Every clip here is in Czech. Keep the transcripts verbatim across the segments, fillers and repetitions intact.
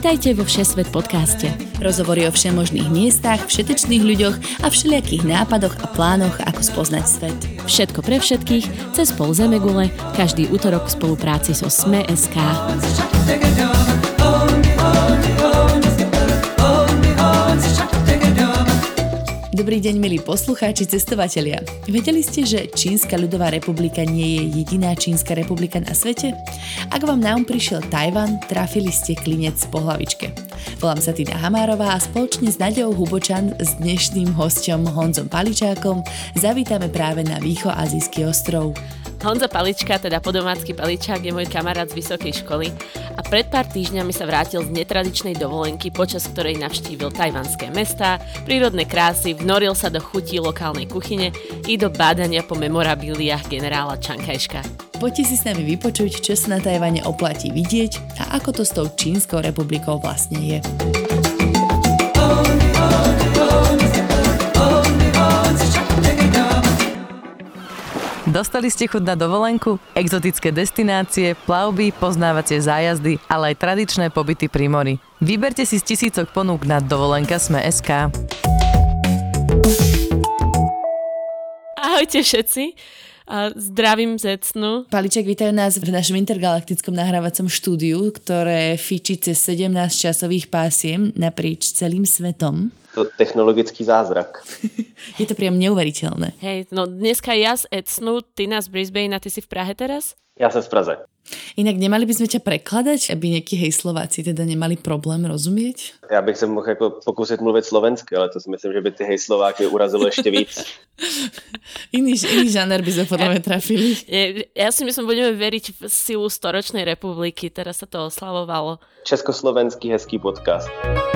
Vítajte vo Všesvet podcaste. Rozhovory o všemožných miestach, všetečných ľuďoch a všelijakých nápadoch a plánoch, ako spoznať svet. Všetko pre všetkých, cez pol zemegule, každý utorok v spolupráci so es em e bodka es ká. Dobrý deň, milí poslucháči, cestovatelia. Vedeli ste, že Čínska ľudová republika nie je jediná čínska republika na svete? Ak vám na um prišiel Tajvan, trafili ste klinec po hlavičke. Volám sa Tina Hamárová a spoločne s Naďou Hubočan s dnešným hosťom Honzom Paličákom zavítame práve na výchoazijský ostrov. Honza Palička, teda podomácky Paličák, je môj kamarát z vysokej školy a pred pár týždňami sa vrátil z netradičnej dovolenky, počas ktorej navštívil tajvanské mestá, prírodné krásy, vnoril sa do chutí lokálnej kuchyne i do bádania po memorabiliách generála Čang Kaj-šeka. Poďte si s nami vypočuť, čo sa na Tajvane oplatí vidieť a ako to s tou Čínskou republikou vlastne je. Dostali ste chuť na dovolenku? Exotické destinácie, plavby, poznávacie zájazdy, ale aj tradičné pobyty pri mori. Vyberte si z tisícok ponúk na dovolenka es em e bodka es ká. Ahojte všetci. A zdravím z Ecnu. Paliček, vítajú nás v našom intergalaktickom nahrávacom štúdiu, ktoré fičí cez sedemnásť časových pásiem naprieč celým svetom. To technologický zázrak. Je to priam neuveriteľné. Hej, no dneska ja z Ecnu, ty na z Brisbane a ty si v Prahe teraz? Ja som z Praze. Inak nemali by sme ťa prekladať, aby nejakí hej Slováci teda nemali problém rozumieť? Já bych se mohl jako pokusit mluvit slovensky, ale to si myslím, že by ty hej Slováky urazilo ještě víc. iný, iný žáner by sme podľa mňa trafili. Ja si myslím, budeme veriť v silu storočnej republiky, teraz sa to oslavovalo. Československý hezký podcast.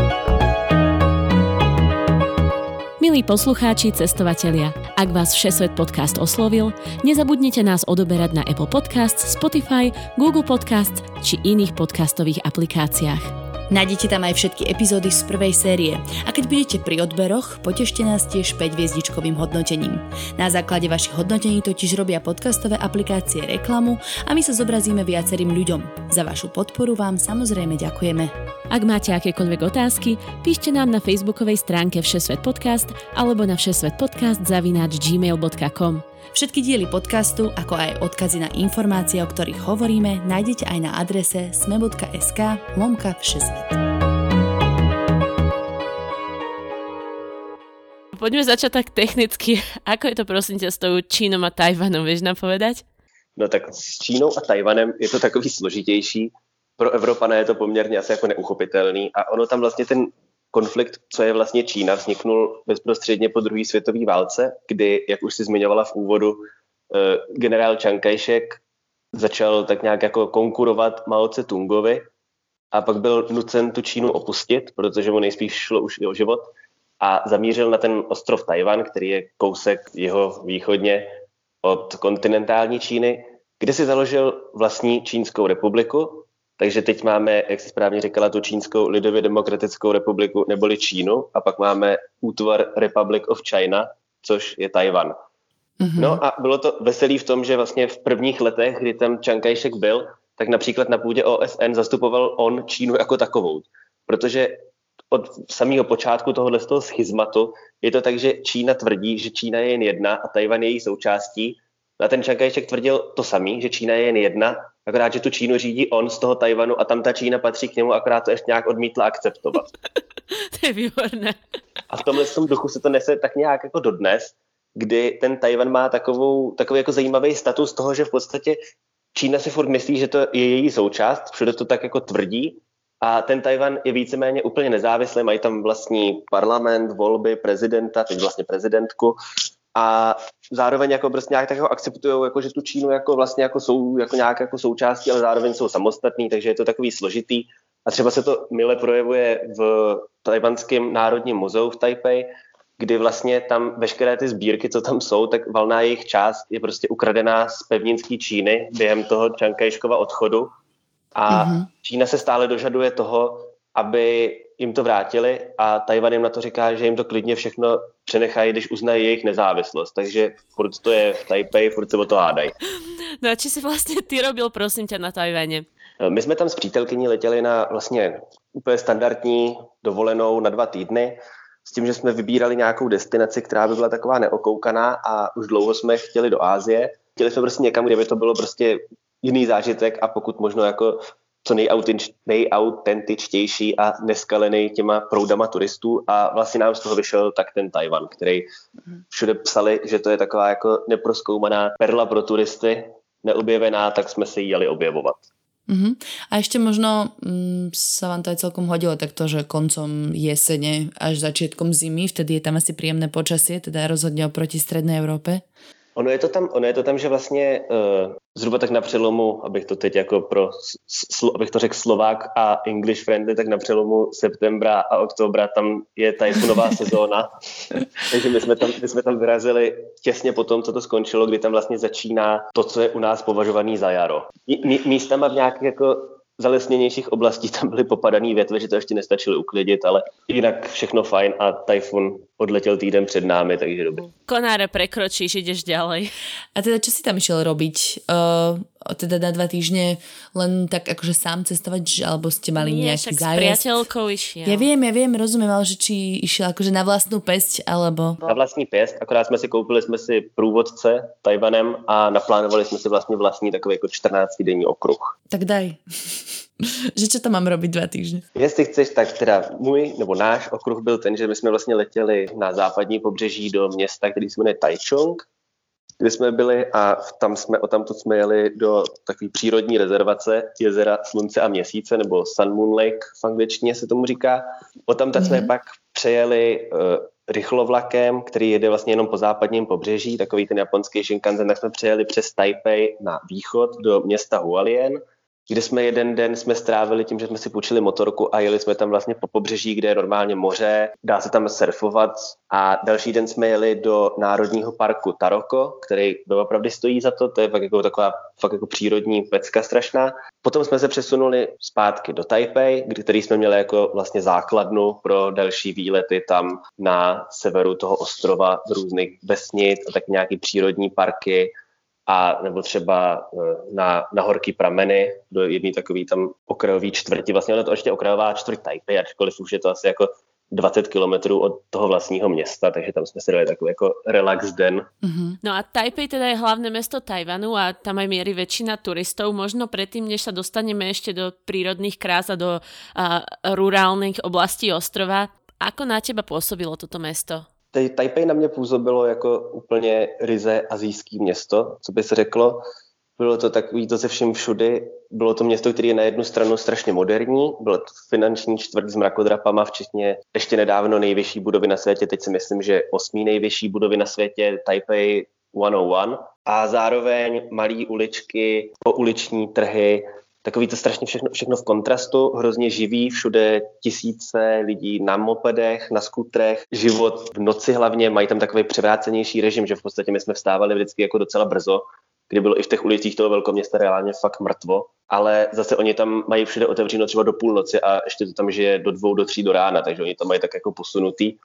Milí poslucháči, cestovatelia, ak vás Všesvet podcast oslovil, nezabudnite nás odoberať na Apple Podcasts, Spotify, Google Podcasts či iných podcastových aplikáciách. Nájdete tam aj všetky epizódy z prvej série a keď budete pri odberoch, potešte nás tiež päť hviezdičkovým hodnotením. Na základe vašich hodnotení totiž robia podcastové aplikácie reklamu a my sa zobrazíme viacerým ľuďom. Za vašu podporu vám samozrejme ďakujeme. Ak máte akékoľvek otázky, píšte nám na facebookovej stránke Všesvet podcast alebo na všesvetpodcast zavináč gmail bodka com. Všetky diely podcastu, ako aj odkazy na informácie, o ktorých hovoríme, nájdete aj na adrese es em e bodka es ká lomka všesvet. Poďme začať tak technicky. Ako je to prosím ťa s tou Čínou a Tajvanom, vieš nám povedať? No tak s Čínou a Tajvanem je to takový složitější. Pro Evropana je to poměrně asi jako neuchopitelný a ono tam vlastně ten konflikt, co je vlastně Čína, vzniknul bezprostředně po druhé světové válce, kdy, jak už si zmiňovala v úvodu, generál Čang Kaj-šek začal tak nějak jako konkurovat Mao Tse-tungovi a pak byl nucen tu Čínu opustit, protože mu nejspíš šlo už i o život a zamířil na ten ostrov Tajvan, který je kousek jeho východně od kontinentální Číny, kde si založil vlastní Čínskou republiku. Takže teď máme, jak jsi správně říkala, tu Čínskou lidově demokratickou republiku neboli Čínu a pak máme útvar Republic of China, což je Tajvan. Mm-hmm. No a bylo to veselý v tom, že vlastně v prvních letech, kdy tam Čang Kaj-šek byl, tak například na půdě O S N zastupoval on Čínu jako takovou. Protože od samého počátku tohohle z toho schizmatu je to tak, že Čína tvrdí, že Čína je jen jedna a Tajvan je její součástí. A ten Čang Kaj-šek tvrdil to samý, že Čína je jen jedna, akorát, že tu Čínu řídí on z toho Tajvanu a tam ta Čína patří k němu, akorát to ještě nějak odmítla akceptovat. To je výborné. A v tomhle tom duchu se to nese tak nějak jako dodnes, kdy ten Tajvan má takovou, takový jako zajímavý status toho, že v podstatě Čína si furt myslí, že to je její součást, všude to tak jako tvrdí a ten Tajvan je víceméně úplně nezávislý, mají tam vlastní parlament, volby, prezidenta, teď vlastně prezidentku, a zároveň jako prostě nějak tak jako akceptujou, jako, že tu Čínu jako vlastně jako jsou jako nějak jako součástí, ale zároveň jsou samostatní, takže je to takový složitý. A třeba se to mile projevuje v Tajvanském národním muzeu v Taipei, kdy vlastně tam veškeré ty sbírky, co tam jsou, tak valná jejich část je prostě ukradená z pevninské Číny během toho Čang Kaj-škova odchodu. A mm-hmm. Čína se stále dožaduje toho, aby jim to vrátili a Tajvan jim na to říká, že jim to klidně všechno přenechají, když uznají jejich nezávislost. Takže furt to je v Taipei, furt se o to hádají. No a či si vlastně ty robil, prosím ťa, na Tajvane? My jsme tam s přítelkyní letěli na vlastně úplně standardní dovolenou na dva týdny, s tím, že jsme vybírali nějakou destinaci, která by byla taková neokoukaná a už dlouho jsme chtěli do Asie. Chtěli jsme prostě někam, kde by to bylo prostě jiný zážitek a pokud možno jako co nejautentičtější a neskalený těma proudama turistů a vlastně nám z toho vyšel tak ten Tajvan, který všude psali, že to je taková jako neprozkoumaná perla pro turisty, neobjevená, tak jsme se jí jeli objevovat. Uh-huh. A ešte možno mm, sa vám to aj celkom hodilo takto, že koncom jesene až začiatkom zimy, vtedy je tam asi príjemné počasie, teda rozhodne oproti strednej Európe. Ono je to tam, ono je to tam, že vlastně uh, zhruba tak na přelomu, abych to teď jako pro, sl, abych to řekl Slovák a English friendly, tak na přelomu septembra a oktobra tam je tajfunová sezóna. Takže my jsme, tam, my jsme tam vyrazili těsně po tom, co to skončilo, kdy tam vlastně začíná to, co je u nás považovaný za jaro. Mí, místama v nějakých jako zalesněnějších oblastí tam byly popadaný větve, že to ještě nestačili uklidit, ale jinak všechno fajn a tajfun odletěl týden před námi, takže dobrý. Konáre prekročíš, ideš ďalej. A teda čo si tam išiel robiť? Uh, teda na dva týždne len tak akože sám cestovať, alebo ste mali Nie, nejaký zájazd? Nie, však s priateľkou išiel. Ja viem, ja viem, rozumiem, ale že či išiel akože na vlastnú pesť, alebo... Na vlastní pěst, akorát jsme si koupili jsme si průvodce Tajvanem a naplánovali jsme si vlastně vlastní takový jako čtrnáctidenní okruh. Tak daj. Že čo tam mám robiť dva týždne? Jestli chceš, tak teda můj nebo náš okruh byl ten, že my jsme vlastně letěli na západní pobřeží do města, který se jmenuje Taichung, kde jsme byli a tam jsme, odtamtud jsme jeli do takové přírodní rezervace jezera Slunce a Měsíce, nebo Sun Moon Lake v angličtině se tomu říká. Odtamtud mm-hmm. jsme pak přejeli uh, rychlovlakem, který jede vlastně jenom po západním pobřeží, takový ten japonský Shinkansen, tak jsme přejeli přes Taipei na východ do města Hualien, kde jsme jeden den jsme strávili tím, že jsme si půjčili motorku a jeli jsme tam vlastně po pobřeží, kde je normálně moře, dá se tam surfovat a další den jsme jeli do národního parku Taroko, který opravdu stojí za to, to je fakt jako taková fakt jako přírodní pecka strašná. Potom jsme se přesunuli zpátky do Taipei, který jsme měli jako vlastně základnu pro další výlety tam na severu toho ostrova z různých vesnic a tak nějaký přírodní parky. A nebo třeba na, na horký prameny do jedné takový tam okrajový čtvrti. Vlastně ono to ještě okrajová čtvrť Taipei, ačkoliv už je to asi jako dvacet kilometrů od toho vlastního města, takže tam jsme si dali takový jako relax den. Mm-hmm. No a Taipei teda je hlavné mesto Tajvanu a tam aj mierí väčšina turistov. Možno predtým, než sa dostaneme ešte do prírodných krás a do uh, rurálnych oblastí ostrova, ako na teba pôsobilo toto mesto? Taipei na mě působilo jako úplně ryze asijský město, co by se řeklo. Bylo to takový to se vším všudy. Bylo to město, které je na jednu stranu strašně moderní. Bylo to finanční čtvrť s mrakodrapama, včetně ještě nedávno nejvyšší budovy na světě. Teď si myslím, že osmý nejvyšší budovy na světě, Taipei sto jedna. A zároveň malé uličky, pouliční trhy, takový to strašně všechno, všechno v kontrastu, hrozně živý, všude tisíce lidí na mopedech, na skutrech, život v noci hlavně, mají tam takový převrácenější režim, že v podstatě my jsme vstávali vždycky jako docela brzo, kdy bylo i v těch ulicích toho velkoměsta reálně fakt mrtvo, ale zase oni tam mají všude otevřeno třeba do půlnoci a ještě to tam žije do dvou, do tří do rána, takže oni to mají tak jako posunutý.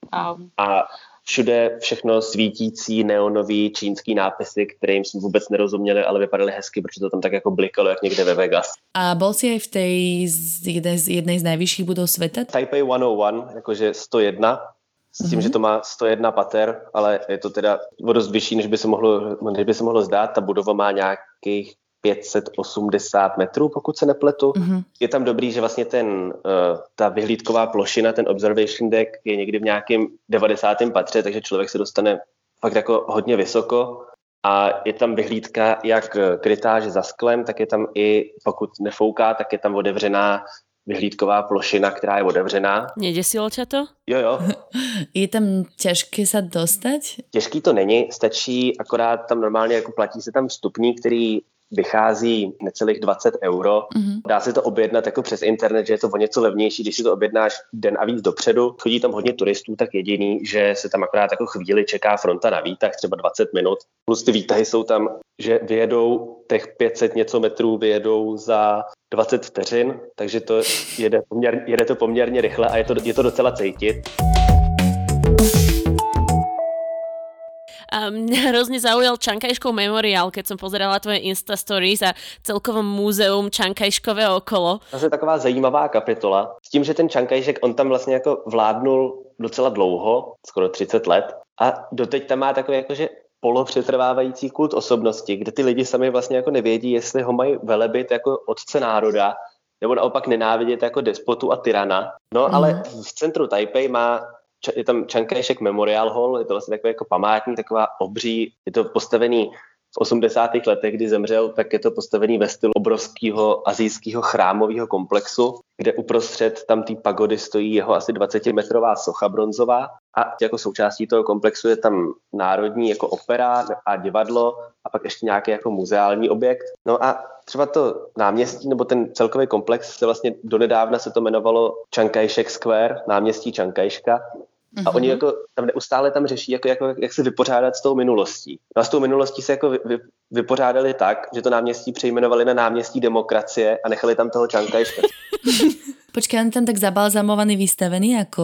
A všude všechno svítící, neonový čínský nápisy, kterým jsme vůbec nerozuměli, ale vypadaly hezky, protože to tam tak jako blikalo, jak někde ve Vegas. A bol si aj v tej jednej z, jednej z najvyšších budov sveta? Taipei sto jedna, jakože sto jedna, s tím, mm-hmm. že to má sto jedna pater, ale je to teda o dost vyšší, než by se mohlo, než by se mohlo zdát. Ta budova má nějakých pět set osmdesát metrů, pokud se nepletu. Mm-hmm. Je tam dobrý, že vlastně ten, uh, ta vyhlídková plošina, ten observation deck je někdy v nějakém devadesátém patře, takže člověk se dostane fakt jako hodně vysoko a je tam vyhlídka jak krytá, že za sklem, tak je tam i, pokud nefouká, tak je tam otevřená vyhlídková plošina, která je otevřená. Nedesilo ťa to? Jo, jo. Je tam těžké se dostat? Těžký to není, stačí, akorát tam normálně jako platí se tam vstupní, který vychází necelých dvacet euro. Mm-hmm. Dá se to objednat jako přes internet, že je to o něco levnější, když si to objednáš den a víc dopředu. Chodí tam hodně turistů, tak jediný, že se tam akorát jako chvíli čeká fronta na výtah, třeba dvacet minut. Plus ty výtahy jsou tam, že vyjedou těch pět set něco metrů, vyjedou za dvacet vteřin, takže to jede, poměr, jede to poměrně rychle a je to, je to docela cítit. A mňa hrozne zaujal Čankajškov memoriál, keď som pozerala tvoje Insta stories a celkovo múzeum Čankajškové okolo. To je taková zajímavá kapitola. S tím, že ten Čankajšek, on tam vlastně jako vládnul docela dlouho, skoro třicet let. A doteď tam má takový jakože polopřetrvávající kult osobnosti, kde ty lidi sami vlastně jako nevědí, jestli ho mají velebit jako otce národa, nebo naopak nenávidět jako despotu a tyrana. No mm. ale v centru Taipei má, je tam Chiang Kai-shek Memorial Hall, je to vlastně takový jako památník, taková obří, je to postavený v osmdesátých letech, kdy zemřel, tak je to postavený ve stylu obrovského asijského chrámového komplexu, kde uprostřed tam té pagody stojí jeho asi dvacetimetrová socha bronzová a jako součástí toho komplexu je tam národní jako opera a divadlo a pak ještě nějaký jako muzeální objekt. No a třeba to náměstí nebo ten celkový komplex se vlastně donedávna se to jmenovalo Chiang Kai-shek Square, náměstí Chiang Kai-shka. A oni jako tam neustále tam řeší, jako, jako, jak se vypořádat s tou minulostí. No a s tou minulostí se jako vy, vy, vypořádali tak, že to náměstí přejmenovali na náměstí demokracie a nechali tam toho Chiang Kai-shka. Počkej, on tam tak zabalzamovaný, vystavený jako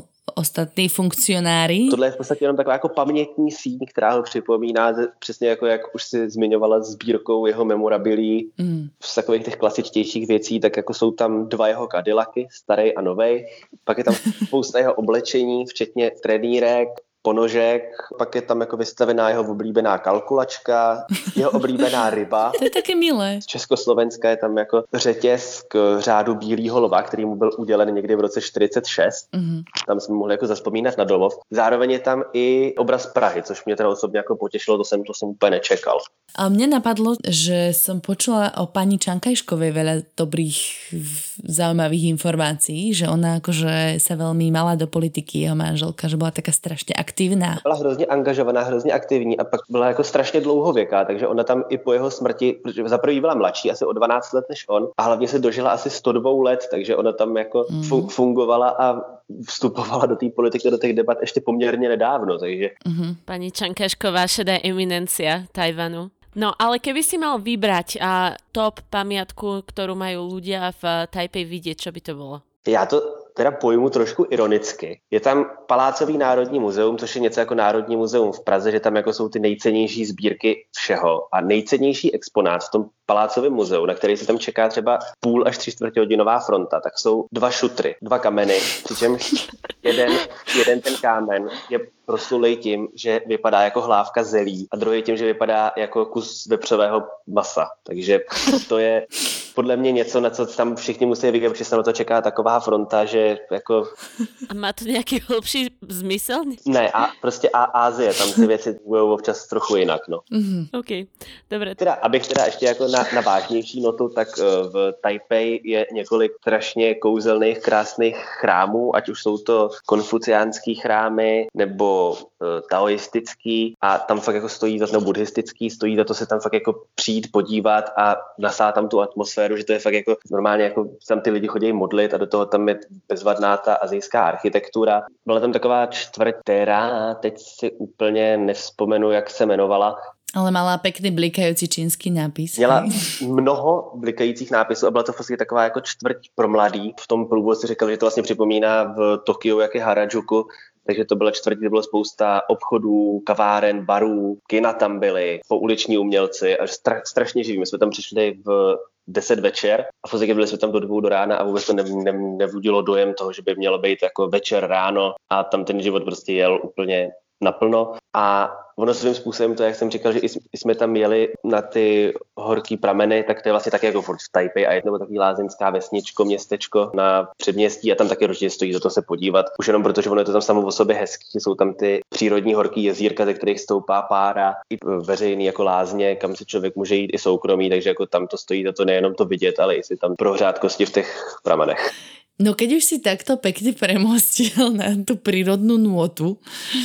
ostatní funkcionáři. Tohle je v podstatě jenom taková jako pamětní síň, která ho připomíná přesně jako jak už si zmiňovala sbírkou jeho memorabilií mm. z takových těch klasičtějších věcí, tak jako jsou tam dva jeho Cadillacy, starý a novej, pak je tam spousta jeho oblečení, včetně trenýrek, ponožek, pak je tam jako vystavená jeho oblíbená kalkulačka, jeho oblíbená ryba. To je také milé. Z Československa je tam jako řetěz k řádu Bílýho lva, který mu byl udělen někdy v roce čtyřicet šest. Mm-hmm. Tam jsme mohli jako zazpomínat na domov. Zároveň je tam i obraz Prahy, což mě teda osobně jako potěšilo, to jsem, to jsem úplně nečekal. A mne napadlo, že som počula o pani Čankajškovej veľa dobrých, zaujímavých informácií, že ona akože sa veľmi mala do politiky, jeho manželka, že bola taká strašne aktívna. Byla hrozně angažovaná, hrozně aktivní a pak byla jako strašně dlouhověká, takže ona tam i po jeho smrti, protože za prvý byla mladší, asi o dvanáct let než on a hlavně se dožila asi sto dva let, takže ona tam jako mm. fun- fungovala a vstupovala do té politiky, do těch debat ještě poměrně nedávno, takže... Mm-hmm. Pani Čankajšková, šedá eminencia Tajvanu. No, ale keby si mal vybrať a top pamiatku, ktorú majú ľudia v Taipei vidieť, čo by to bolo? Já to teda pojmu trošku ironicky. Je tam Palácový národní muzeum, což je něco jako Národní muzeum v Praze, že tam jako jsou ty nejcennější sbírky všeho. A nejcennější exponát v tom Palácovém muzeu, na který se tam čeká třeba půl až tři čtvrtě hodinová fronta, tak jsou dva šutry, dva kameny, přičemž jeden, jeden ten kámen je proslulej tím, že vypadá jako hlávka zelí a druhý tím, že vypadá jako kus vepřového masa. Takže to je podle mě něco, na co tam všichni musí vidět, protože se na to čeká taková fronta, že jako... A má to nějaký hlubší zmysel? Ne, a prostě a Ázie, tam ty věci budou občas trochu jinak, no. Mm-hmm. OK, dobré. Teda, abych teda ještě jako na, na vážnější notu, tak v Taipei je několik strašně kouzelných, krásných chrámů, ať už jsou to konfuciánský chrámy, nebo uh, taoistický a tam fakt jako stojí za to, nebo buddhistický, stojí za to se tam fakt jako přijít, podívat a nasát tam tu atmosféru, že to je fakt jako normálně jako tam ty lidi chodí modlit a do toho tam je bezvadná ta asijská architektura. Byla tam taková čtvrť, která teď si úplně nevzpomenu, jak se jmenovala. Ale mala pekný blikající čínský nápis. Měla mnoho blikajících nápisů a byla to vlastně taková jako čtvrť pro mladý. V tom průvodu si říkal, že to vlastně připomíná v Tokiu, jak je Harajuku. Takže to byla čtvrť, kde bylo spousta obchodů, kaváren, barů, kina tam byly, pouliční umělci a stra- strašně živí. My jsme tam přišli v deset večer a v podstatě byli jsme tam do dvou do rána a vůbec to ne, ne, nevudilo dojem toho, že by mělo být jako večer, ráno a tam ten život prostě jel úplně naplno. A ono svým způsobem to, jak jsem říkal, že i jsme tam jeli na ty horký prameny, tak to je vlastně taky jako furt v Taipei a je to takový lázeňská vesničko, městečko na předměstí a tam taky určitě stojí za to se podívat. Už jenom protože ono je to tam samo o sobě hezký, jsou tam ty přírodní horký jezírka, ze kterých stoupá pára, i veřejný jako lázně, kam si člověk může jít i soukromí, takže jako tam to stojí za to nejenom to vidět, ale i si tam prohřát kosti v těch pramenech. No keď už si takto pekne premostil na tú prírodnú nôtu,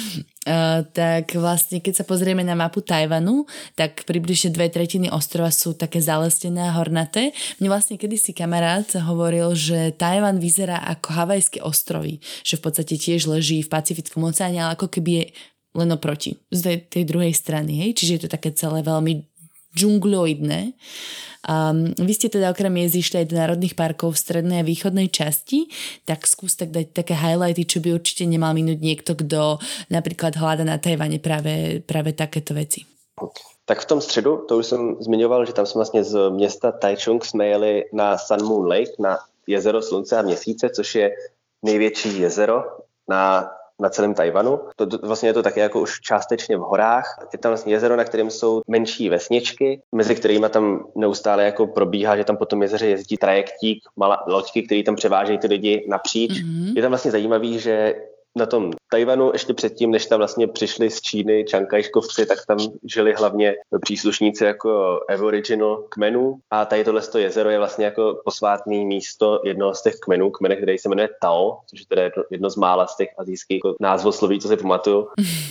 uh, tak vlastne keď sa pozrieme na mapu Tajvanu, tak približne dve tretiny ostrova sú také zalesnené a hornaté. Mne vlastne kedysi kamarát hovoril, že Tajvan vyzerá ako Havajské ostrovy, že v podstate tiež leží v Pacifickom oceáne, ale ako keby je len oproti, z tej druhej strany, hej? Čiže je to také celé veľmi džungloidné. Um, vy ste teda okrem jezdy išli aj do národných parkov v strednej a východnej časti, tak skús tak dať také highlighty, čo by určite nemal minúť niekto, kto napríklad hľada na Tajvane práve, práve takéto veci. Tak v tom středu, to už jsem zmiňoval, že tam jsme vlastně z města Taichung jsme jeli na Sun Moon Lake, na jezero Slunce a Měsíce, což je největší jezero na, na celém Tajvanu. To, to, vlastně je to také jako už částečně v horách. Je tam vlastně jezero, na kterém jsou menší vesničky, mezi kterými tam neustále jako probíhá, že tam po tom jezeře jezdí trajektík, malé loďky, které tam převážejí ty lidi napříč. Mm-hmm. Je tam vlastně zajímavý, že na tom Tajvanu ještě předtím, než tam vlastně přišli z Číny čankajškovci, tak tam žili hlavně příslušníci jako aboriginal kmenů a tady tohle jezero je vlastně jako posvátné místo jednoho z těch kmenů, kmene, který se jmenuje Tao, což je teda jedno z mála z těch asijských jako názvosloví, co si pamatuju.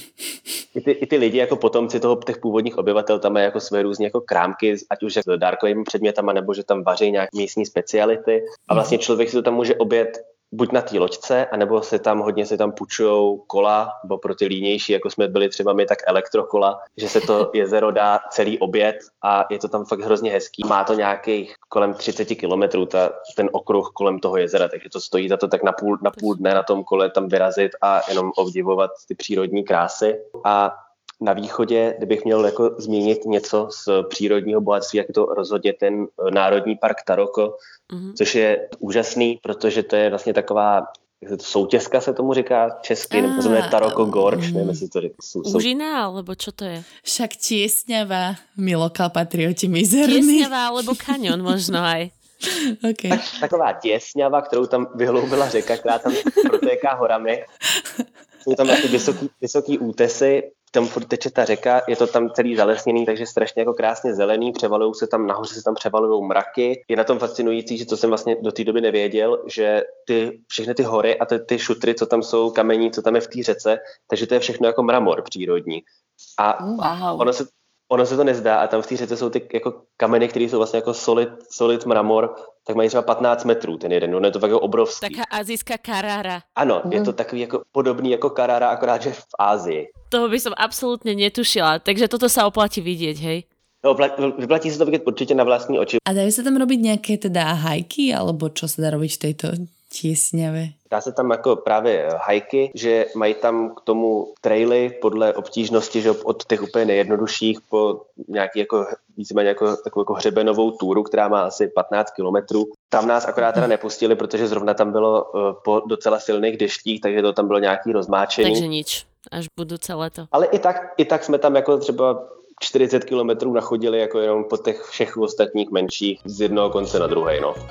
I ty, I ty lidi jako potomci toho, těch původních obyvatel tam mají jako své různé jako krámky, ať už s dárkovými předmětama, nebo že tam vaří nějaké místní speciality a vlastně člověk si to tam může objet buď na té loďce, anebo se tam hodně se tam půjčujou kola, bo pro ty línější, jako jsme byli třeba my, tak elektrokola, že se to jezero dá celý obět a je to tam fakt hrozně hezký. Má to nějakých kolem třicet kilometrů, ta, ten okruh kolem toho jezera, takže to stojí za to tak na půl, na půl dne na tom kole tam vyrazit a jenom obdivovat ty přírodní krásy. A na východě, kdybych měl jako zmínit něco z přírodního bohatství, jak je to rozhodně ten Národní park Taroko, mm-hmm. což je úžasný, protože to je vlastně taková soutězka, se tomu říká česky, nebo to znamená Taroko Gorge, nevím, jestli to říká. Úžina, alebo čo to je? Však tiesňava, my lokál patrioti mizerní. Tiesňava, alebo kanion možno aj. Okay. Tak, taková těsňava, kterou tam vyhloubila řeka, která tam protéká horami. Jsou tam vlastně vysoký, vysoký útesy, tam furt teče ta řeka, je to tam celý zalesněný, takže strašně jako krásně zelený, převalují se tam, nahoře se tam převalují mraky. Je na tom fascinující, že to jsem vlastně do té doby nevěděl, že ty, všechny ty hory a ty, ty šutry, co tam jsou, kamení, co tam je v té řece, takže to je všechno jako mramor přírodní. A wow. ono se Ono se to nezdá a tam v té řece jsou ty jako kameny, které jsou vlastně jako solid, solid mramor, tak mají třeba patnáct metrů ten jeden, no je to fakt jako obrovský. Taká azijská Carrara. Ano, mm. je to takový jako podobný jako Carrara, akorát že v Ázii. Toho by som absolútne netušila, takže toto sa oplatí vidieť, hej? No, vyplatí se to vidět určitě na vlastní oči. A dajú sa tam robiť nejaké teda hajky, alebo čo sa dá robiť v tejto tiesňave? Dá se tam jako právě hajky, že mají tam k tomu traily podle obtížnosti, že od těch úplně nejjednodušších po nějaký jako víceméně jako takovou jako hřebenovou túru, která má asi patnáct kilometrů. Tam nás akorát teda nepustili, protože zrovna tam bylo uh, po docela silných deštích, takže to tam bylo nějaký rozmáčení. Takže nič, až budúce leto. Ale i tak, i tak jsme tam jako třeba čtyřicet kilometrů nachodili jako jenom po těch všech ostatních menších z jednoho konce na druhej, no.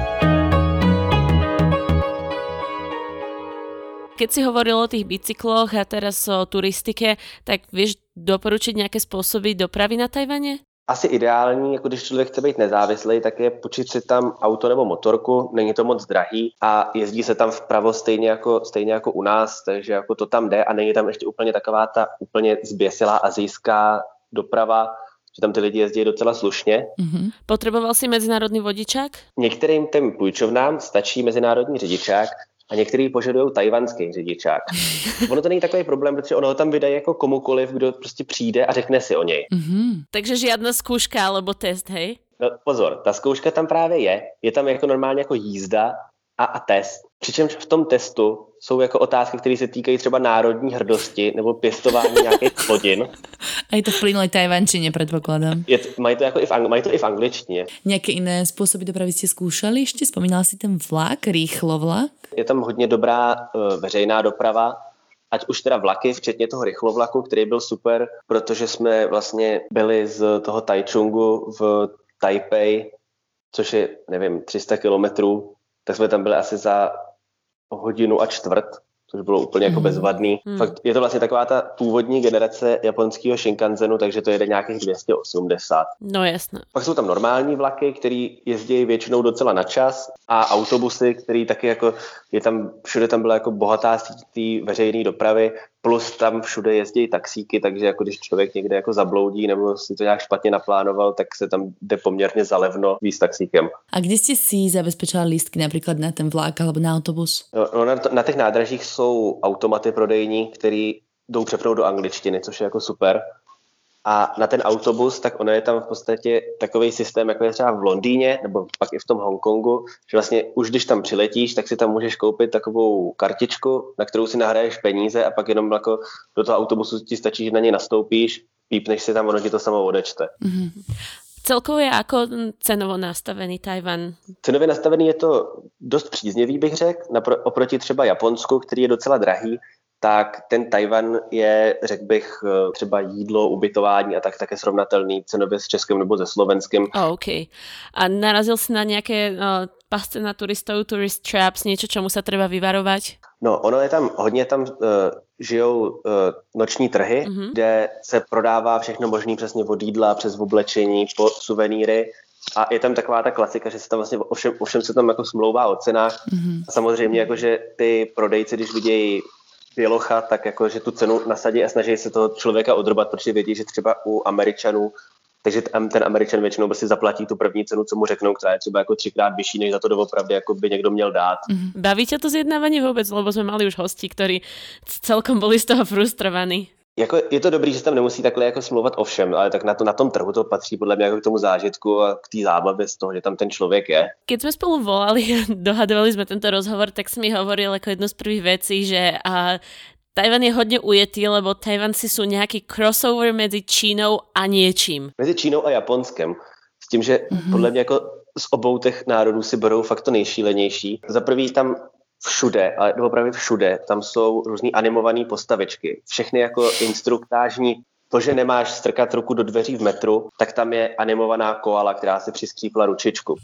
Keď si hovoril o tých bicykloch a teraz o turistike, tak vieš doporučiť nejaké spôsoby dopravy na Tajvane? Asi ideální, jako když člověk chce být nezávislý, tak je počít si tam auto nebo motorku, není to moc drahý a jezdí se tam vpravo stejně jako, stejně jako u nás, takže jako to tam jde a není tam ještě úplně taková ta úplně zběsilá asijská doprava, že tam ty lidi jezdí docela slušně. Mm-hmm. Potřeboval si mezinárodní vodičák? Některým těm půjčovnám stačí mezinárodní řidičák, a některý požadují tajvanský řidičák. Ono to není takový problém, protože ono ho tam vydají jako komukoliv, kdo prostě přijde a řekne si o něj. Mm-hmm. Takže žiadna zkouška alebo test, hej? No, pozor, ta zkouška tam právě je. Je tam jako normálně jako jízda a, a test. Přičemž v tom testu jsou jako otázky, které se týkají třeba národní hrdosti nebo pěstování nějakých plodin. A je to v plynulej tajvančine, predpokladám. Je to, mají, to jako i v, mají to i v angličtině. Nějaké jiné způsoby dopravy jste zkoušeli ještě? Vzpomínal si ten vlak, rýchlovlak? Je tam hodně dobrá uh, veřejná doprava, ať už teda vlaky, včetně toho rychlovlaku, který byl super, protože jsme vlastně byli z toho Taichungu v Taipei, což je, nevím, tři sta kilometrů, tak jsme tam byli asi za hodinu a čtvrt, což bylo úplně jako bezvadný. Hmm. Fakt je to vlastně taková ta původní generace japonského Shinkansenu, takže to jede nějakých dvě stě osmdesát. No jasné. Pak jsou tam normální vlaky, které jezdí většinou docela na čas a autobusy, které taky jako, je tam, všude tam byla jako bohatá síť té veřejné dopravy, plus tam všude jezdí taxíky, takže jako když člověk někde jako zabloudí nebo si to nějak špatně naplánoval, tak se tam jde poměrně zalevno víc taxíkem. A kde jste si zabezpečila lístky například na ten vlak alebo na autobus? No, no na, na těch nádražích jsou automaty prodejní, které jdou přepnout do angličtiny, což je jako super. A na ten autobus, tak ono je tam v podstatě takový systém, jako je třeba v Londýně, nebo pak i v tom Hongkongu, že vlastně už když tam přiletíš, tak si tam můžeš koupit takovou kartičku, na kterou si nahraješ peníze a pak jenom jako do toho autobusu ti stačí, že na něj nastoupíš, pípneš si tam, ono ti to samo odečte. Mm-hmm. Celkově jako cenovo nastavený Tajvan? Cenově nastavený je to dost příznivý, bych řekl, napro- oproti třeba Japonsku, který je docela drahý, tak ten Tajvan je, řekl bych, třeba jídlo, ubytování a tak také srovnatelný cenově s Českým nebo se Slovenským. Oh, OK. A narazil si na nějaké uh, pasce na turistov, tourist traps, něco, čemu se treba vyvarovat? No, ono je tam, hodně tam uh, žijou uh, noční trhy, mm-hmm. kde se prodává všechno možné přesně od jídla, přes oblečení, po suvenýry. A je tam taková ta klasika, že se tam vlastně ovšem, ovšem se tam jako smlouvá o cenách. Mm-hmm. A samozřejmě jakože ty prodejci, když vidějí bělocha, tak jakože tu cenu nasadí a snaží se toho člověka odrbat, protože vědí, že třeba u Američanů, takže ten Američan většinou prostě zaplatí tu první cenu, co mu řeknou, která je třeba jako třikrát vyšší, než za to doopravdy jako by někdo měl dát. Mm-hmm. Baví ťa to zjednávanie vôbec? Lebo sme mali už hosti, ktorí celkom boli z toho frustrovaní. Jako, je to dobrý, že se tam nemusí takhle jako smlouvat o všem, ale tak na, to, na tom trhu to patří podle mě jako k tomu zážitku a k té zábavě z toho, že tam ten člověk je. Keď sme spolu volali a dohadovali sme tento rozhovor, tak si mi hovoril ako jednu z prvých vecí, že a, Tajvan je hodně ujetý, lebo Tajvanci sú nejaký crossover medzi Čínou a niečím. Mezi Čínou a Japonskem. S tím, že mm-hmm. podle mě jako z obou těch národů si berou fakt to nejšílenější. Za prvý tam všude, ale opravdu všude, tam jsou různý animované postavičky. Všechny jako instruktážní, to, že nemáš strkat ruku do dveří v metru, tak tam je animovaná koala, která si přiskřípla ručičku.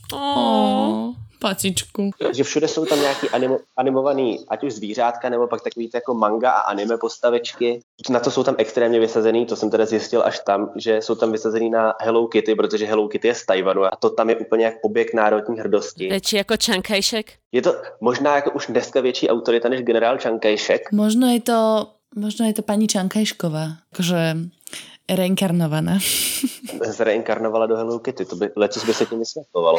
Oh, pacičku. Takže všude jsou tam nějaký animo, animovaný, ať už zvířátka, nebo pak takový jako manga a anime postavičky. Na to jsou tam extrémně vysazený, to jsem teda zjistil až tam, že jsou tam vysazený na Hello Kitty, protože Hello Kitty je z Tajvanu a to tam je úplně jak objekt národní hrdosti. Větší jako Chiang Kai-shek? Je to možná jako už dneska větší autorita než generál Chiang Kai-shek. Možno je to, možno je to paní Čankajšková, akože reinkarnovaná. Zreinkarnovala do Hello Kitty, to by, lecos by se tím vysvětlovalo.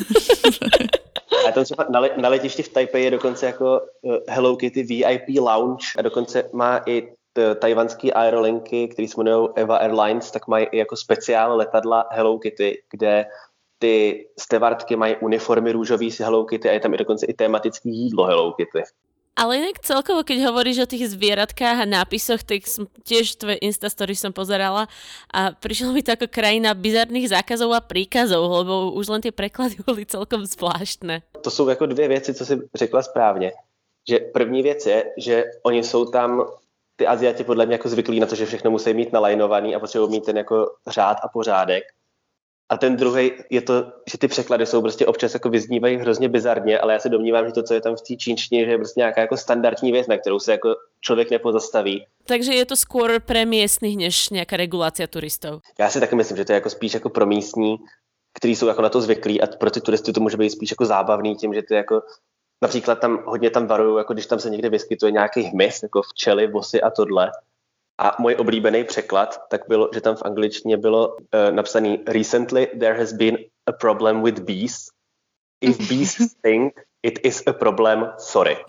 A to třeba na, le, na letišti v Taipei je dokonce jako uh, Hello Kitty V I P lounge a dokonce má i t, tajvanský aerolinky, který se jmenují Eva Airlines, tak mají i jako speciál letadla Hello Kitty, kde ty stevardky mají uniformy růžový si Hello Kitty a je tam i dokonce i tematický jídlo Hello Kitty. Ale inak celkovo, keď hovoríš o tých zvieratkách a nápisoch, tak som, tiež tvoje Instastory som pozerala a prišlo mi to ako krajina bizarných zákazov a príkazov, lebo už len tie preklady boli celkom zvláštne. To jsou jako dvě věci, co jsi řekla správně. Že první věc je, že oni jsou tam, ty Aziati podle mě jako zvyklí na to, že všechno musí mít nalajnovaný a potřebují mít ten jako řád a pořádek. A ten druhý je to, že ty překlady jsou prostě občas jako vyznívají hrozně bizarně, ale já se domnívám, že to, co je tam v té čínštině, že je prostě nějaká jako standardní věc, na kterou se jako člověk nepozastaví. Takže je to skôr pre miestnych než nějaká regulácia turistov. Já si taky myslím, že to je jako spíš jako pro místní, kteří jsou jako na to zvyklí a pro ty turisty to může být spíš jako zábavný tím, že ty jako například tam hodně tam varují, jako když tam se někde vyskytuje nějaký hmyz, jako včely, vosy a tohle. A můj oblíbený překlad, tak bylo, že tam v angličtině bylo uh, napsaný Recently there has been a problem with bees. If bees stink, it is a problem, sorry.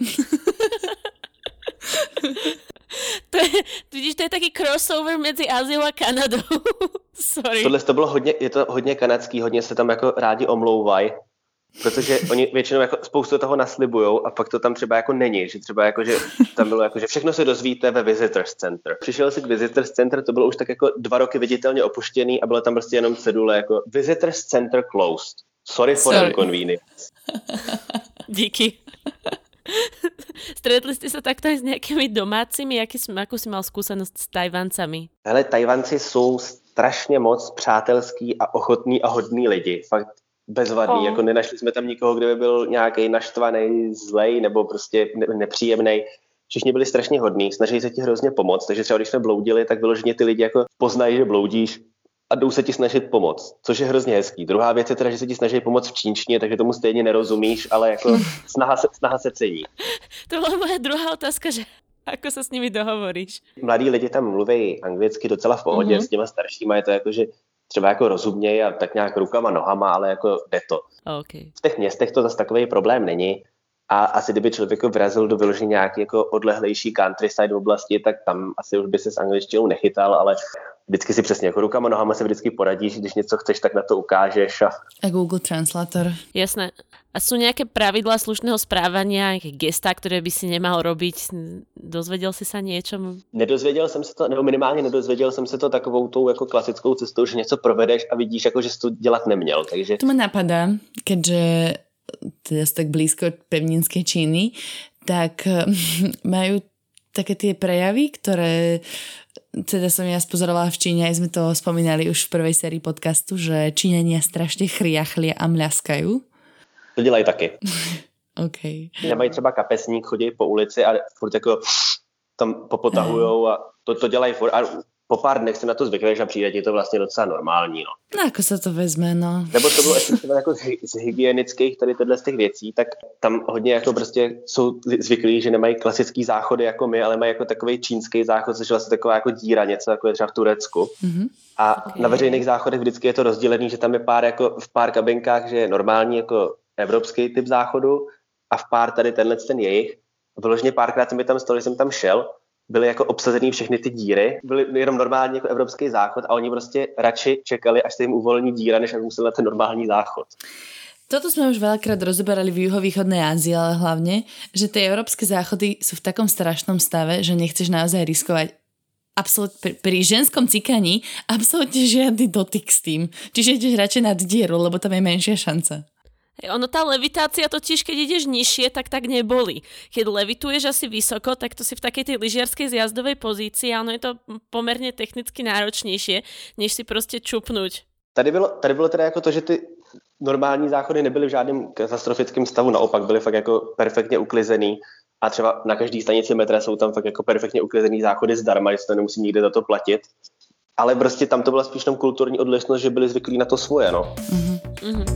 To je, vidíš, to je taký crossover mezi Áziou a Kanadou. Sorry. Tohle to bylo hodně, je to hodně kanadský, hodně se tam jako rádi omlouvají. Protože oni většinou jako spoustu toho naslibujou a pak to tam třeba jako není, že třeba jako, že tam bylo jako, že všechno se dozvíte ve Visitors Center. Přišel si k Visitors Center, to bylo už tak jako dva roky viditelně opuštěný a bylo tam prostě jenom cedule jako Visitors Center closed. Sorry for Sorry. inconvenience. Díky. Stretli ste sa takto aj s nejakými domácimi? Jaký, akú si mal skúsenosť s Tajvancami? Hele, Tajvanci jsou strašně moc přátelský a ochotný a hodný lidi. Fakt bezvadný, oh. Jako nenašli jsme tam nikoho, kdo by byl nějaký naštvaný, zlej nebo prostě nepříjemný. Všichni byli strašně hodní, snažili se ti hrozně pomoct, takže třeba když jsme bloudili, tak vyloženě ty lidi jako poznají, že bloudíš a jdou se ti snažit pomoct, což je hrozně hezký. Druhá věc je teda, že se ti snaží pomoct v čínštině, takže tomu stejně nerozumíš, ale jako snaha se, snaha se cení. To byla moje druhá otázka, že ako sa s nimi dohovoríš? Mladí lidi tam mluví anglicky docela v pohodě, mm-hmm. S těma staršíma je to jako, že třeba jako rozumějí a tak nějak rukama, nohama, ale jako jde to. Okay. V těch městech to zase takový problém není. A asi kdyby člověk vrazil do vyložení nějaký jako odlehlejší countryside oblasti, tak tam asi už by se s angličtinou nechytal, ale vždycky si přesně jako rukama, nohama se vždycky poradíš, když něco chceš, tak na to ukážeš. A, a Google Translator. Jasné. A sú nejaké pravidlá slušného správania, nejaké gestá, ktoré by si nemal robiť? Dozvedel si sa niečom? Nedozvěděl jsem se to, nebo minimálně nedozvěděl jsem se to takovou tou jako klasickou cestou, že něco provedeš a vidíš, jako, že jsi to dělat neměl. Takže... To ma napadá, keďže teda sú tak blízko pevninskej Číny, tak majú také tie prejavy, ktoré teda som ja spozorovala v Číne, aj sme to spomínali už v prvej sérii podcastu, že Číňania strašne chriachlia a mľaskajú. To dělají taky. Okay. Nemají třeba kapesník, chodí po ulici a furt jako tam popotahujou a to, to dělají furt. A po pár dnech se na to zvykneš a přijde ti to vlastně docela normální. No, no ako sa to vezme, no. Nebo to bylo ještě jako z, z hygienických tady tyhle z těch věcí, tak tam hodně jako prostě jsou zvyklí, že nemají klasický záchody jako my, ale mají jako takový čínský záchod, což je vlastně taková jako díra, něco jako je třeba v Turecku. Mm-hmm. A okay. Na veřejných záchodech vždycky je to rozdělený, že tam je pár jako v pár kabinkách, že je normální jako evropský typ záchodu a v pár tady tenhle ten jejich. Vyloženě párkrát jsem tam stalo, že jsem tam šel, byly jako obsazený všechny ty díry, byly jenom normální jako evropský záchod a oni prostě radši čekali, až se jim uvolní díra, než aby museli na ten normální záchod. Toto sme už veľakrát rozoberali v juhovýchodnej Ázii, ale hlavne, že tie európske záchody sú v takom strašnom stave, že nechceš naozaj riskovať absolút, pri, pri ženskom cikaní absolútne žiadny dotyk s tým. Čiže ideš radšej nad dieru, lebo tam je menšia šanca. Ono, tá levitácia totiž, keď ideš nižšie, tak tak neboli. Keď levituješ asi vysoko, tak to si v takej tej lyžiarskej zjazdovej pozícii a ono je to pomerne technicky náročnejšie, než si proste čupnúť. Tady bylo, tady bylo teda jako to, že ty normální záchody nebyly v žádném katastrofickém stavu, naopak byly fakt jako perfektně uklizený a třeba na každý stanici metra jsou tam fakt jako perfektně uklizený záchody zdarma, že se to nemusí nikde za to platit. Ale prostě tam to byla spíš tam kulturní odlišnost, že byli zvyklí na to svoje, no. Mm-hmm. Mm-hmm.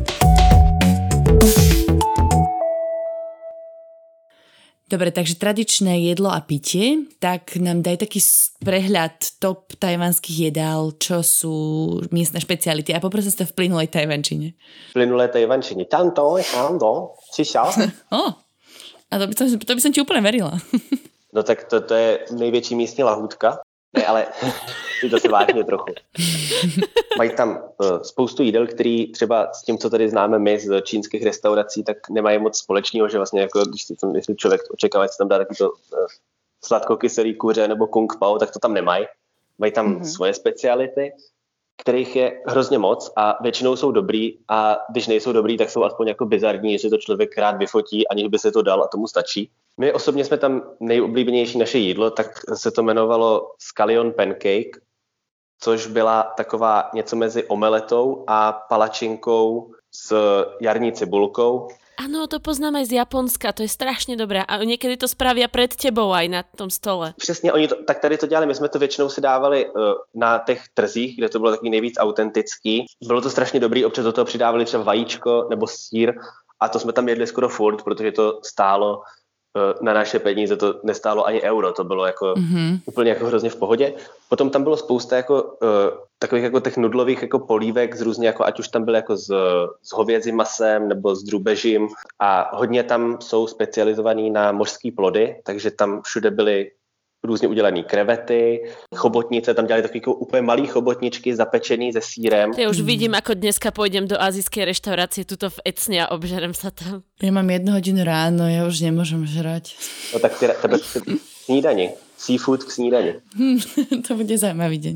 Dobre, takže tradičné jedlo a pitie, tak nám daj taký prehľad top tajvanských jedál, čo sú miestne špeciality. A poprosím sa v plynulej tajvančine. V plynulej tajvančine. Tanto, tanto, čiša. Oh, a to by, som, to by som ti úplne verila. No tak to, to je největší místní lahůdka. Ne, ale to se vážně trochu. Mají tam uh, spoustu jídel, který třeba s tím, co tady známe my z čínských restaurací, tak nemají moc společného, že vlastně jako, když si tam, jestli člověk očekává, že se tam dá taky to uh, sladkokyselý kuře nebo kung pao, tak to tam nemají. Mají tam mm-hmm. svoje speciality, kterých je hrozně moc a většinou jsou dobrý a když nejsou dobrý, tak jsou aspoň jako bizarní, že to člověk rád vyfotí, aniž by se to dal a tomu stačí. My osobně jsme tam nejoblíbenější naše jídlo, tak se to jmenovalo Scallion Pancake, což byla taková něco mezi omeletou a palačinkou s jarní cibulkou. Áno, to poznám aj z Japonska, to je strašne dobré a niekedy to spravia pred tebou aj na tom stole. Přesně, oni to, tak tady to dělali, my jsme to většinou si dávali uh, na těch trzích, kde to bylo takový nejvíc autentický. Bylo to strašně dobrý, občas do toho přidávali třeba vajíčko nebo sýr a to jsme tam jedli skoro furt, protože to stálo uh, na naše peníze, to nestálo ani euro, to bylo jako mm-hmm. úplně jako hrozně v pohodě. Potom tam bylo spousta jako uh, takových jako těch nudlových jako polívek z různě jako, ať už tam byly jako s, s hovězím masem nebo s drůbežím a hodně tam jsou specializovaný na mořský plody, takže tam všude byly různě udělané krevety, chobotnice, tam dělali takové jako úplně malý chobotničky zapečený se sírem. Ja už vidím, ako dneska pôjdem do azijskej reštaurácie tuto v Ecne a obžerem sa tam. Ja mám jednu hodinu ráno, ja už nemôžem žrať. No tak tebe snídani, seafood k snídani. To bude zajímavý deň.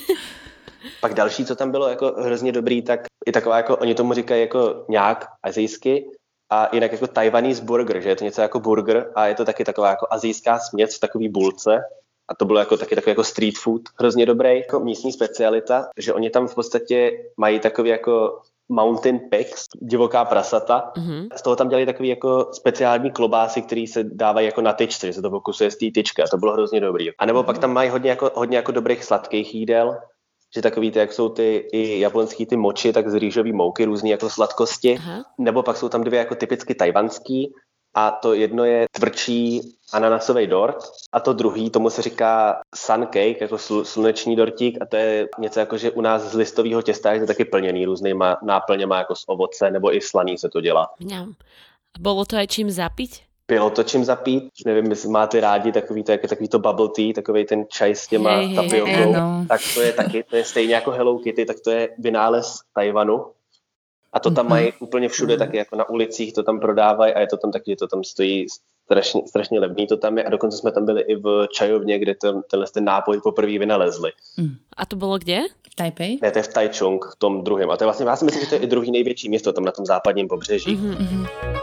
Pak další, co tam bylo jako hrozně dobrý, tak je taková jako, oni tomu říkají jako nějak azijsky a jinak jako Taiwanese burger, že je to něco jako burger a je to taky taková jako azijská směs v takový bulce a to bylo jako taky takový jako street food, hrozně dobrý, jako místní specialita, že oni tam v podstatě mají takový jako mountain pigs, divoká prasata. Mm-hmm. Z toho tam dělali takový jako speciální klobásy, které se dávají jako na tyčce, že se to pokusuje z té tyčky a to bylo hrozně dobrý. A nebo mm-hmm. pak tam mají hodně jako, hodně jako dobrých sladkých jídel, že takový ty, jak jsou ty i japonský ty moči, tak z rýžový mouky, různý jako sladkosti. Aha. Nebo pak jsou tam dvě jako typicky tajvanský a to jedno je tvrdší ananasový dort a to druhý, tomu se říká sun cake, jako sl- sluneční dortík a to je něco jako, že u nás z listového těsta je to taky plněný různýma náplněma jako z ovoce nebo i slaný se to dělá. Mňam. A bolo to aj čím zapiť? bylo to čím zapít. Nevím, jestli máte rádi takový to, jako takový to bubble tea, takový ten čaj s těma hey, tapiokou. hey, no. Tak to je taky, to je stejně jako Hello Kitty, tak to je vynález Tajvanu. A to tam mm-hmm. mají úplně všude, taky jako na ulicích to tam prodávají a je to tam taky, že to tam stojí strašně, strašně levný to tam je. A dokonce jsme tam byli i v čajovně, kde ten, tenhle ten nápoj poprvé vynalezli. Mm. A to bylo kde? V Taipei? Ne, to je v Taichung, v tom druhém. A to je vlastně, já si myslím, že to je i druhý největší město tam na tom západním pobřeží. Mm-hmm.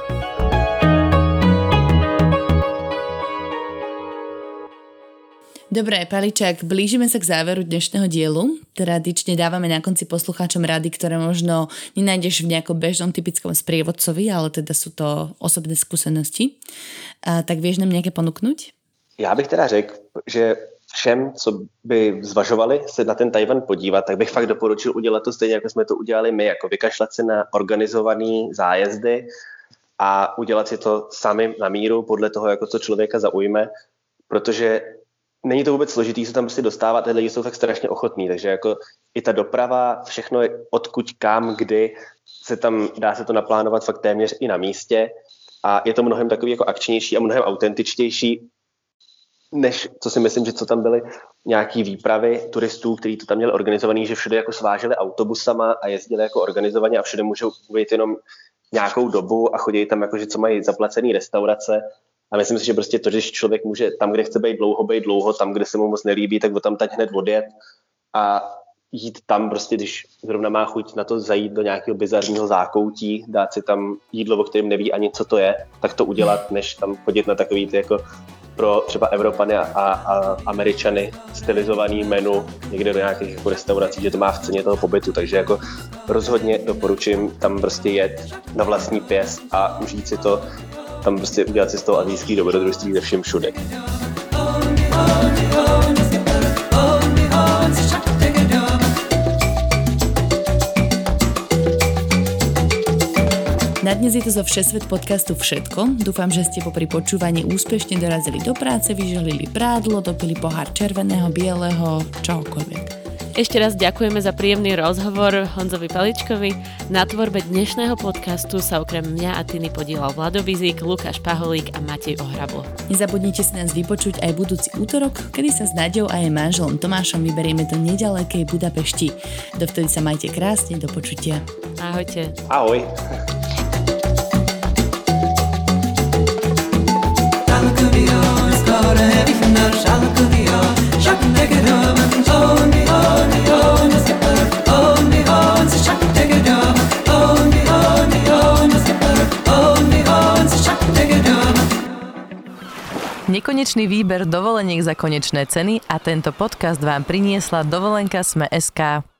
Dobre, Paličák, blížime sa k záveru dnešného dielu. Tradične dávame na konci poslucháčom rady, ktoré možno nenájdeš v nejakom bežnom typickom sprievodcovi, ale teda sú to osobné skúsenosti. A tak vieš nám nejaké ponúknuť? Já bych teda řekl, že všem, co by zvažovali se na ten Tajvan podívat, tak bych fakt doporučil udělat to stejně, jako jsme to udělali my, jako vykašlat se na organizovaný zájezdy a udělat si to sami na míru podle toho, jako co člověka zaujme, protože není to vůbec složitý se tam prostě dostávat, ty lidi jsou fakt strašně ochotní, takže jako i ta doprava, všechno je odkud, kam, kdy, se tam, dá se to naplánovat fakt téměř i na místě a je to mnohem takový jako akčnější a mnohem autentičtější, než co si myslím, že co tam byly nějaký výpravy turistů, kteří to tam měli organizovaný, že všude jako sváželi autobusama a jezdili jako organizovaně a všude můžou ujít jenom nějakou dobu a chodí tam jako, že co mají zaplacený restaurace. A myslím si, že prostě to, že člověk může tam, kde chce být dlouho, být dlouho, tam, kde se mu moc nelíbí, tak tam teď hned odjet a jít tam prostě, když zrovna má chuť na to zajít do nějakého bizarního zákoutí, dát si tam jídlo, o kterém neví ani, co to je, tak to udělat, než tam chodit na takový ty jako pro třeba Evropany a, a Američany stylizovaný menu někde do nějakých jako restaurací, že to má v ceně toho pobytu, takže jako rozhodně doporučím tam prostě jet na vlastní pěst a užít si to, tam prostě udělat si z toho asijský dobrodružství ze všem všude. Na dnes je to zo Všesvet podcastu všetko. Dúfam, že ste popri počúvaní úspešne dorazili do práce, vyželili prádlo, dopili pohár červeného, bieleho, čohokoľvek. Ešte raz ďakujeme za príjemný rozhovor Honzovi Paličkovi. Na tvorbe dnešného podcastu sa okrem mňa a Tiny podielal Vlado Bizík, Lukáš Paholík a Matej Ohrablo. Nezabudnite si nás vypočuť aj budúci útorok, kedy sa s Naďou a jej manželom Tomášom vyberieme do nedalekej Budapešti. Dovtedy sa majte krásne, do počutia. Ahojte. Ahoj. Nekonečný výber dovoleniek za konečné ceny a tento podcast vám priniesla Dovolenka es em e bodka es ká.